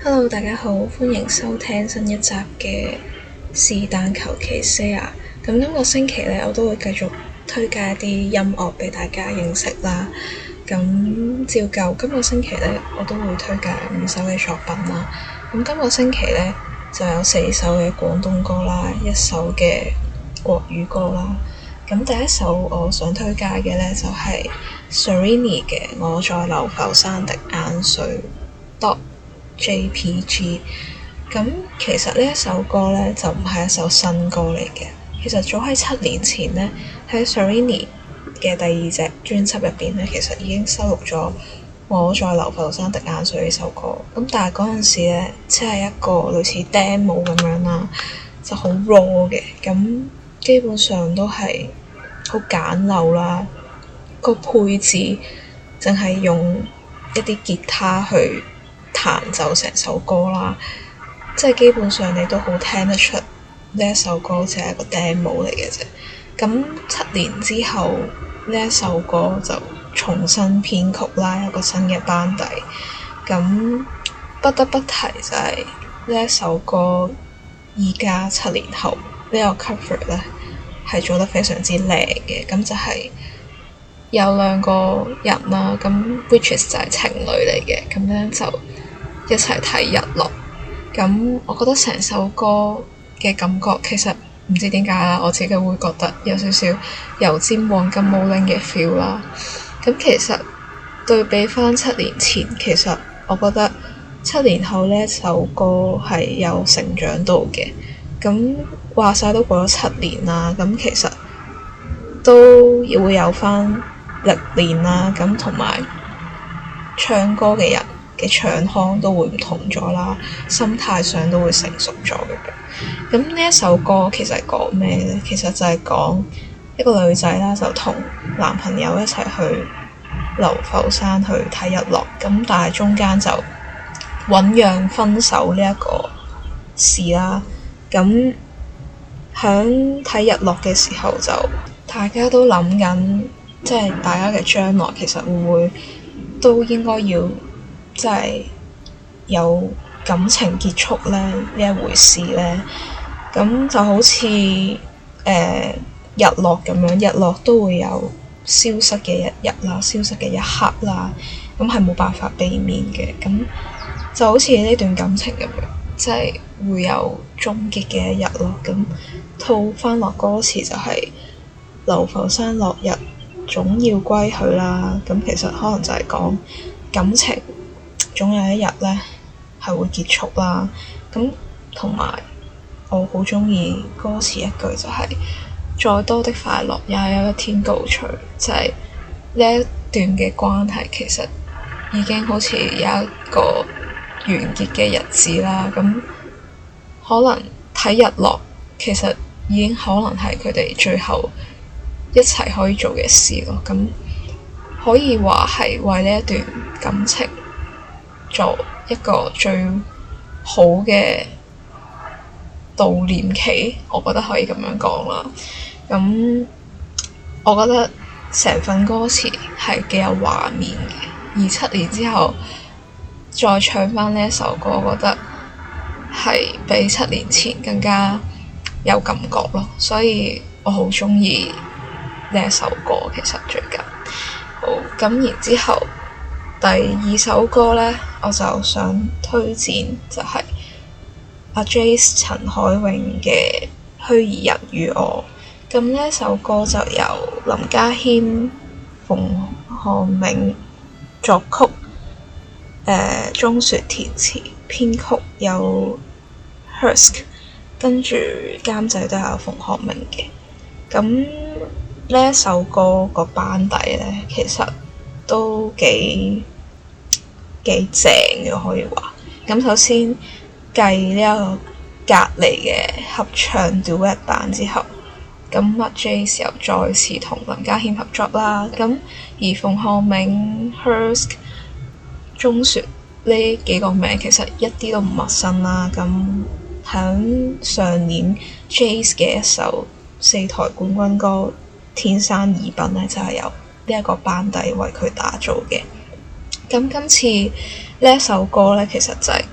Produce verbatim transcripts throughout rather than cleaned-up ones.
Hello，大家好，歡迎收聽新一集嘅是但求其 share。咁今個星期咧，我都會繼續推介一啲音樂俾大家認識啦。咁照舊，今個星期咧，我都會推介五首嘅作品啦。咁今個星期咧就有四首嘅廣東歌啦，一首嘅國語歌啦。咁第一首我想推介嘅咧就係 Serrini 嘅《我在流浮山滴眼水》J P G。 咁其實呢一首歌咧就唔係一首新歌嚟嘅，其實早喺七年前咧喺 Serrini 嘅第二隻專輯入邊咧，其實已經收錄咗《我在流浮山滴眼水》呢首歌。咁但係嗰陣時咧，只係一個類似 demo 咁樣啦，就好 raw 嘅，咁基本上都係好簡陋啦。個配置淨係用一啲吉他去彈奏成首歌啦，即係基本上你都好聽得出呢一首歌只係一個 demo 嚟嘅啫。咁七年之後呢一首歌就重新編曲啦，有個新嘅班底。咁不得不提就係呢一首歌，而家七年後呢個 cover 咧係做得非常之靚嘅。咁就係有兩個人啦，咁 which is 就係情侶嚟嘅，咁樣就一齊睇日落。咁我覺得成首歌嘅感覺其實唔知點解啦，我自己會覺得有少少油尖旺金毛玲嘅 feel 啦。咁其實對比翻七年前，其實我覺得七年後呢一首歌係有成長到嘅。咁話晒都過咗七年啦，咁其實都會有翻歷練啦，咁同埋唱歌嘅人嘅唱腔都會唔同咗啦，心態上都會成熟咗嘅。咁呢一首歌其實係講咩呢？其實就係講一個女仔啦，就同男朋友一齊去流浮山去睇日落，咁但係中間就醞釀分手呢一個事啦。咁響睇日落嘅時候就大家都諗緊，即係大家嘅將來其實會唔會都應該要即係有感情結束咧呢一回事咧。咁就好似誒、呃、日落咁樣，日落都會有消失嘅一日啦，消失嘅一刻啦，咁係冇辦法避免嘅。咁就好似呢段感情咁樣，即係會有終結嘅一日咯。咁套翻落歌詞就係流浮山落日總要歸去啦。咁其實可能就係講感情總有一日咧係會結束啦。咁同埋我好鍾意歌詞一句就係、是、再多的快樂也有一天告吹，就係、是、呢一段嘅關係其實已經好似有一個完結嘅日子啦。咁可能睇日落其實已經可能係佢哋最後一齊可以做嘅事咯。咁可以話係為呢一段感情做一個最好嘅悼念期，我覺得可以咁樣講啦。咁我覺得成份歌詞係幾有畫面嘅，而七年之後再唱返呢一首歌，我覺得係比七年前更加有感覺咯。所以我好鍾意呢一首歌。其實最近好咁，然之後第二首歌呢，我就想推薦就係阿 Jace 陳海詠嘅《虛擬人與我》。咁呢一首歌就由林家謙、馮漢銘作曲，誒、呃、鍾雪填詞編曲，有 Hursk， 跟住監製都有馮漢銘嘅。咁呢一首歌個班底咧，其實都幾幾正嘅，可以話。咁首先計呢一個隔離嘅合唱 duet 版之後，咁阿 Jace 又再次同林家謙合作啦。咁而馮漢銘、Hursk、鍾雪呢幾個名其實一啲都唔陌生啦。咁響上年 Jace 嘅一首四台冠軍歌《天生異稟》咧，就係、是、由呢一個班底為佢打造嘅。咁今次呢一首歌咧，其實就係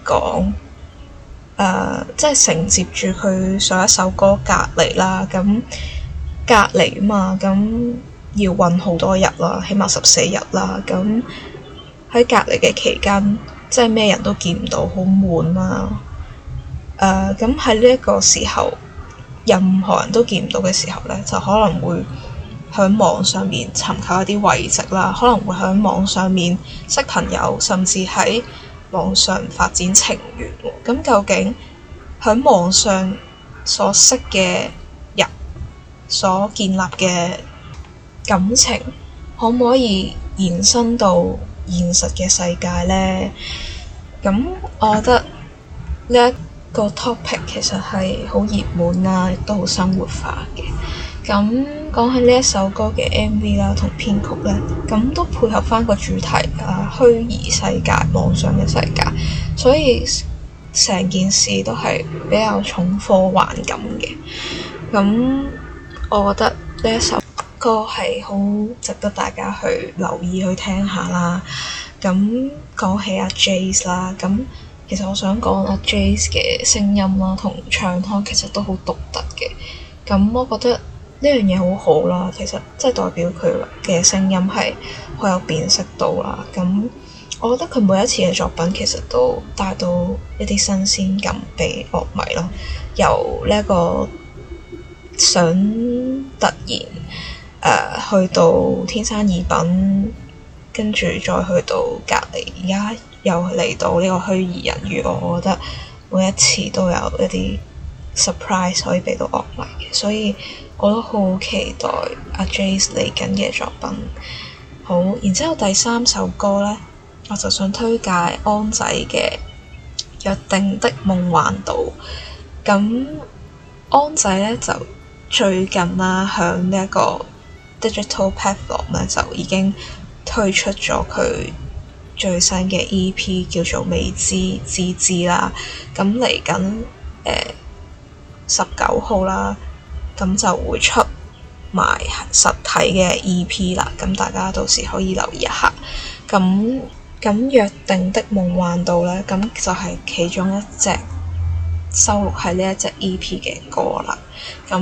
講誒，即係承接住佢上一首歌隔離啦。咁隔離啊嘛，咁要韞好多日啦，起碼十四日啦。咁喺隔離嘅期間，即係咩人都見唔到，好悶啦。誒，咁喺呢一個時候，任何人都見唔到嘅時候咧，就可能會喺網上面尋求一啲慰藉啦，可能會喺網上面識朋友，甚至喺網上發展情緣。咁究竟喺網上所識嘅人所建立嘅感情，可唔可以延伸到現實嘅世界呢？咁我覺得呢一個 topic 其實係好熱門啦，亦都好生活化嘅。咁講起呢一首歌嘅 M V 啦，同編曲咧，咁都配合翻個主題啊，虛擬世界、網上嘅世界，所以成件事都係比較重科幻感嘅。咁我覺得呢一首歌係好值得大家去留意去聽下啦。咁講起阿 Jace 啦，咁其實我想講阿 Jace 嘅聲音啦，同唱腔其實都好獨特嘅。咁我覺得呢樣嘢好好啦，其實即係代表佢嘅聲音係好有辨識度啦。咁我覺得佢每一次嘅作品其實都帶到一啲新鮮感俾樂迷咯。由呢一個想突然誒、呃、去到天生異稟，跟住再去到隔離，而家又嚟到呢個虛擬人魚，我覺得每一次都有一啲 surprise 可以俾到樂迷嘅，所以我都好期待阿 Jace 嚟緊嘅作品。好，然之後第三首歌呢，我就想推介安仔嘅《約定的夢幻島》。咁安仔呢，就最近啦，響呢一個 digital platform 呢，就已經推出咗佢最新嘅 E P 叫做《未知之知》啦。咁嚟緊誒十九號啦，咁就會出埋實體嘅 E P 啦。咁大家到時可以留意一下。咁咁約定的夢幻島咧，咁就係其中一隻收錄喺呢一隻 E P 嘅歌啦。咁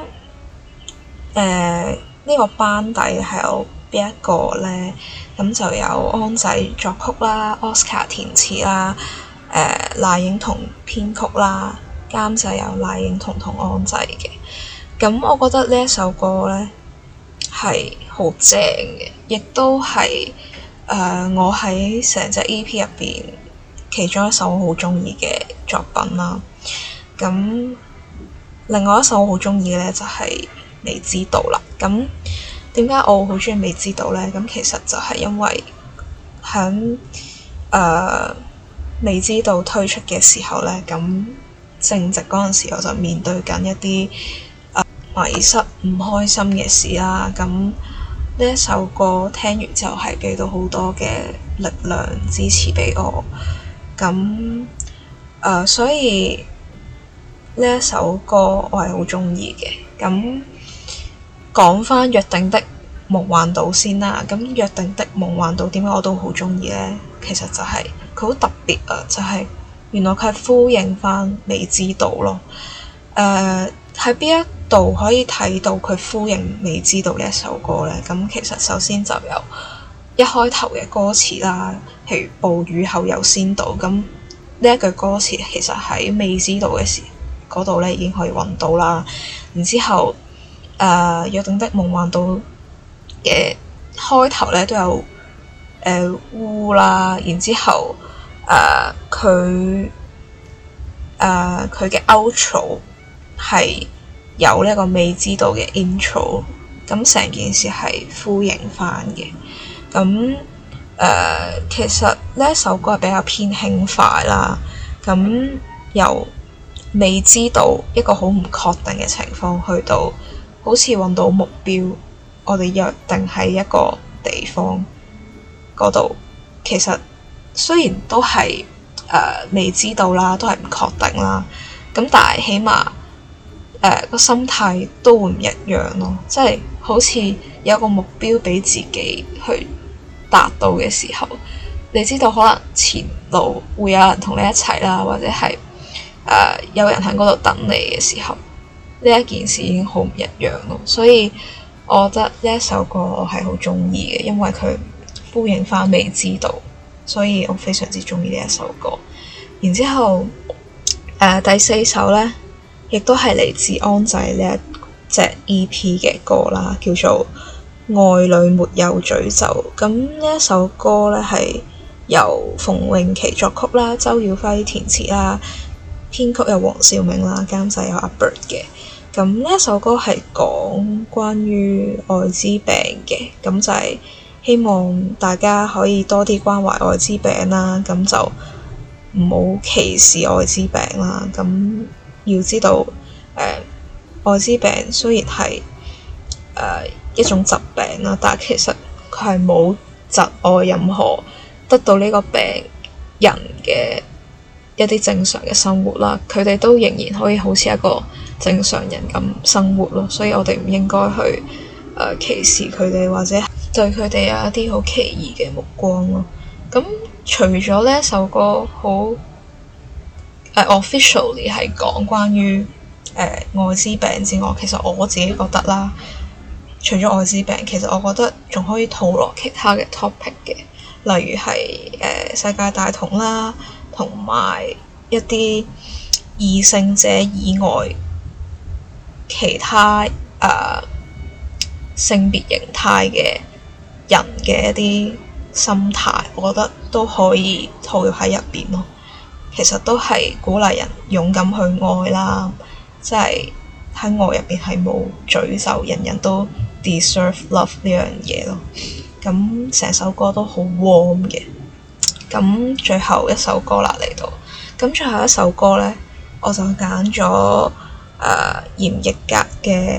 誒呢個班底係有邊一個咧？咁就有安仔作曲啦， Oscar 填詞啦，誒、呃、賴影彤編曲啦，監製有賴影彤同安仔嘅。咁我覺得呢一首歌咧係好正嘅，亦都係誒、呃、我喺成隻 E P 入邊其中一首我好中意嘅作品啦。咁另外一首我好中意嘅咧就係、是、未知道啦。咁點解我好中意未知道咧？咁其實就係因為響誒、呃、未知道推出嘅時候咧，咁正值嗰陣時我就面對緊一啲誒、呃、迷失唔開心嘅事啦。咁呢一首歌聽完之後係俾到好多嘅力量支持俾我。咁誒、呃、所以呢一首歌我係好中意嘅。咁講翻約定的夢幻島先啦。咁約定的夢幻島點解我都好中意呢？其實就係佢好特別啊，就係、是、原來佢係呼應翻未知道咯。誒喺邊一度可以睇到佢呼應未知道呢一首歌呢？咁其實首先就有一開頭嘅歌詞啦，譬如暴雨後有仙島。咁呢一句歌詞其實喺未知道嘅時嗰度呢已經可以揾到啦。然之後誒、呃、約定的夢幻島嘅開頭咧都有誒烏、呃、啦，然之後誒佢誒佢嘅 outro 係有呢一個未知道嘅 intro， 咁成件事係呼應翻嘅。咁誒、呃、其實呢一首歌係比較偏輕快啦。咁由未知道一個好唔確定嘅情況去到好似揾到目標，我哋約定喺一個地方嗰度。其實雖然都係誒、呃、未知道啦，都係唔確定啦。咁但係起碼誒個心態都會唔一樣咯。即係好似有個目標俾自己去達到嘅時候，你知道可能前路會有人同你一齊啦，或者係誒、呃、有人喺嗰度等你嘅時候，呢一件事已經好唔一樣咯。所以我覺得呢一首歌我係好鍾意嘅，因為佢呼應返未知道，所以我非常之鍾意呢一首歌。然之後誒、呃、第四首呢，亦都係嚟自安仔呢一隻 E P 嘅歌啦，叫做愛裏沒有詛咒。咁呢一首歌呢，係由馮穎琪作曲啦，周耀輝填詞啦，編曲有黃兆銘啦，監製有阿 Bird 嘅。咁呢一首歌係講關於愛滋病嘅，咁就係希望大家可以多啲關懷愛滋病啦，咁就唔好歧視愛滋病啦。咁要知道誒、呃、愛滋病雖然係誒、呃、一種疾病啦，但係其實佢係冇窒礙任何得到呢個病人嘅一啲正常嘅生活啦，佢哋都仍然可以好似一個正常人咁生活咯，所以我哋唔應該去誒、呃、歧視佢哋，或者對佢哋有一啲好奇異嘅目光咯。咁除咗呢一首歌好誒、呃、officially 係講關於誒、呃、愛滋病之外，其實我自己覺得啦，除咗愛滋病，其實我覺得仲可以套落其他嘅 topic 嘅，例如係誒、呃、世界大同啦，同埋一啲異性者以外其他誒、呃、性別形態嘅人嘅一啲心態，我覺得都可以套入喺入邊咯。其實都係鼓勵人勇敢去愛啦，即係喺愛入邊係冇詛咒，人人都 deserve love 呢樣嘢咯。咁成首歌都好 warm 嘅。咁最後一首歌啦嚟到，咁最後一首歌呢，我就揀咗誒嚴奕格嘅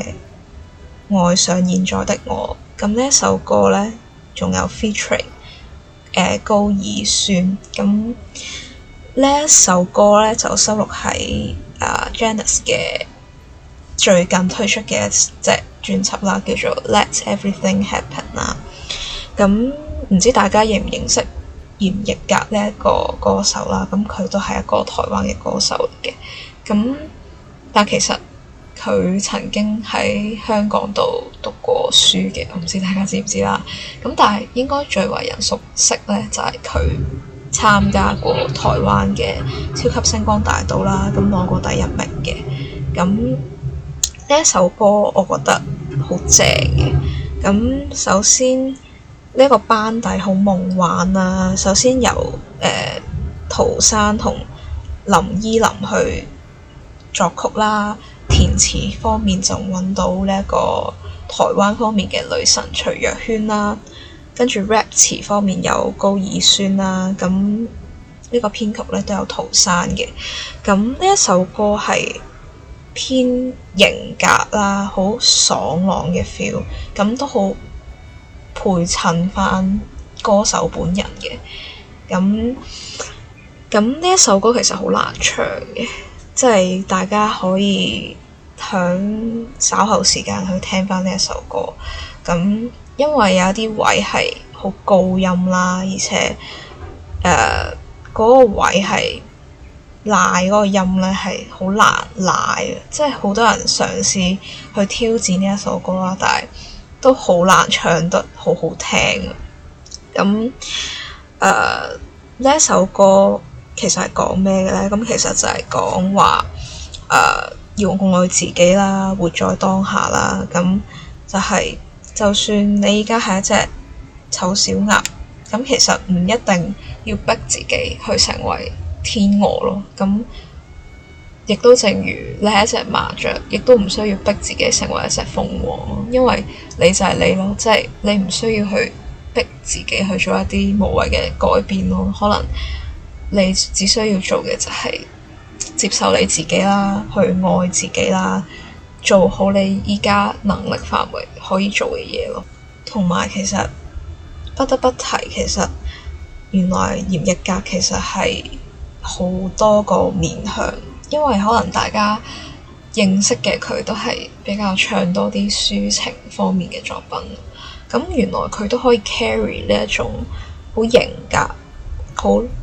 《愛上現在的我》。咁呢一首歌呢，仲有 featuring 誒、呃、高爾宣。咁呢一首歌呢，就收錄喺誒 Janice 嘅最近推出嘅一隻專輯啦，叫做 Let Everything Happen 啦。咁唔知大家認唔認識嚴奕格呢一個歌手啦？咁佢都係一個台灣嘅歌手嚟嘅。咁但其實佢曾經喺香港度讀過書嘅，我唔知大家知唔知啦。咁但係應該最為人熟悉咧，就係佢參加過台灣嘅超級星光大道啦，咁攞過第一名嘅。咁呢一首歌我覺得好正嘅。咁首先呢一個班底好夢幻啊！首先由誒、呃、陶山同林依林去作曲啦，填詞方面就揾到呢一個台灣方面嘅女神徐若瑄啦，跟住 rap 詞方面有高爾宣啦，咁呢個編曲咧都有陶山嘅。咁呢一首歌係偏型格啦，好爽朗嘅 feel，咁都好配襯翻歌手本人嘅。咁咁呢一首歌其實好難唱嘅，即係大家可以響稍後時間去聽翻呢一首歌。咁因為有啲位係好高音啦，而且誒嗰、呃嗰個位係賴嗰個音咧係好難賴嘅，即係好多人嘗試去挑戰呢一首歌啦，但係都好難唱得好好聽。咁誒呢一首歌其實係講咩嘅咧？咁其實就係講話誒要愛自己啦，活在當下啦。咁就係、是、就算你而家係一隻醜小鴨，咁其實唔一定要逼自己去成為天鵝咯。咁亦都正如你係一隻麻雀，亦都唔需要逼自己成為一隻鳳凰咯，因為你就係你咯，即係你唔需要去逼自己去做一啲無謂嘅改變咯。可能你只需要做嘅就係接受你自己啦，去愛自己啦，做好你依家能力範圍可以做嘅嘢咯。同埋其實不得不提，其實原來嚴奕格其實係好多個面向，因為可能大家認識嘅佢都係比較唱多啲抒情方面嘅作品，咁原來佢都可以 carry 呢一種好型格、好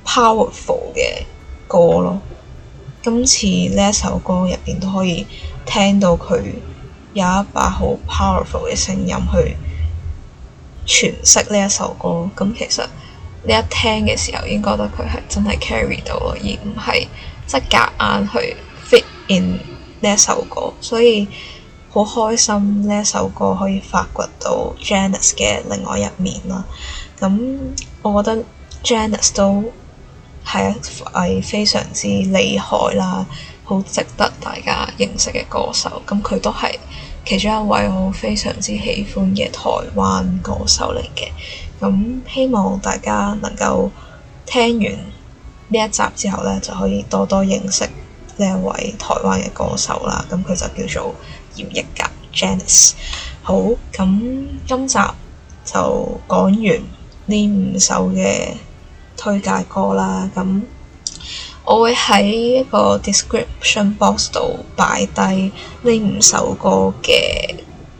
powerful 嘅歌咯。今次呢一首歌入邊都可以聽到佢有一把好 powerful 嘅聲音去詮釋呢一首歌。咁其實你一聽嘅時候，已經覺得佢係真係 carry 到咯，而唔係即係夾硬去 fit in 呢一首歌。所以好開心呢一首歌可以發掘到 Janice 嘅另外一面啦。咁我覺得 Janice 都係係非常之厲害啦，好值得大家認識嘅歌手。咁佢都係其中一位我非常之喜歡嘅台灣歌手嚟嘅。咁希望大家能夠聽完呢一集之後呢，就可以多多認識呢一位台灣嘅歌手啦。咁佢就叫做嚴藝格 Janice。好，咁今集就講完呢五首嘅推介歌啦。咁我會喺一個 description box 度擺低呢五首歌嘅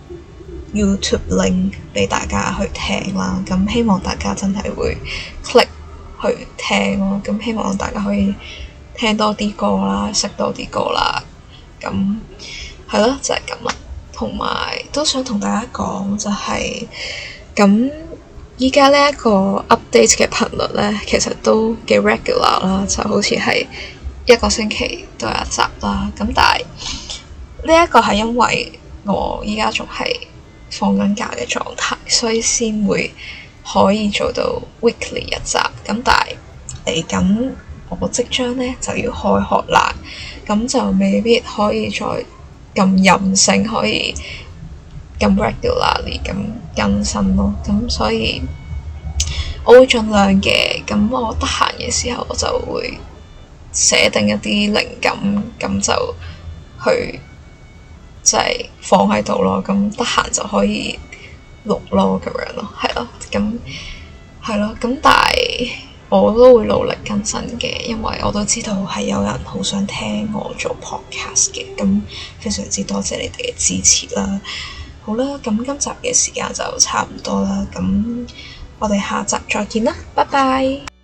YouTube link 俾大家去聽啦。咁希望大家真係會 click 去聽咯。咁希望大家可以聽多啲歌啦，識多啲歌啦。咁係咯，就係咁啦。同埋都想同大家講就係咁。依家呢一個 update 嘅頻率咧，其實都幾 regular 啦，就好似係一個星期都有一集啦。咁但係呢一個係因為我依家仲係放緊假嘅狀態，所以先會可以做到 weekly 一集。咁但係嚟緊我即將咧就要開學啦，咁就未必可以再咁任性，可以咁 regularly 咁更新咯。咁所以我會盡量嘅。咁我得閒嘅時候我就會寫定一啲靈感，咁就去即係、就是、放喺度咯。咁得閒就可以錄咯，咁樣咯，係咯。咁係咯。咁但係我都會努力更新嘅，因為我都知道係有人好想聽我做 podcast 嘅。咁非常之多謝你哋嘅支持啦。好啦，咁今集嘅時間就差唔多啦，咁我哋下集再見啦，拜拜。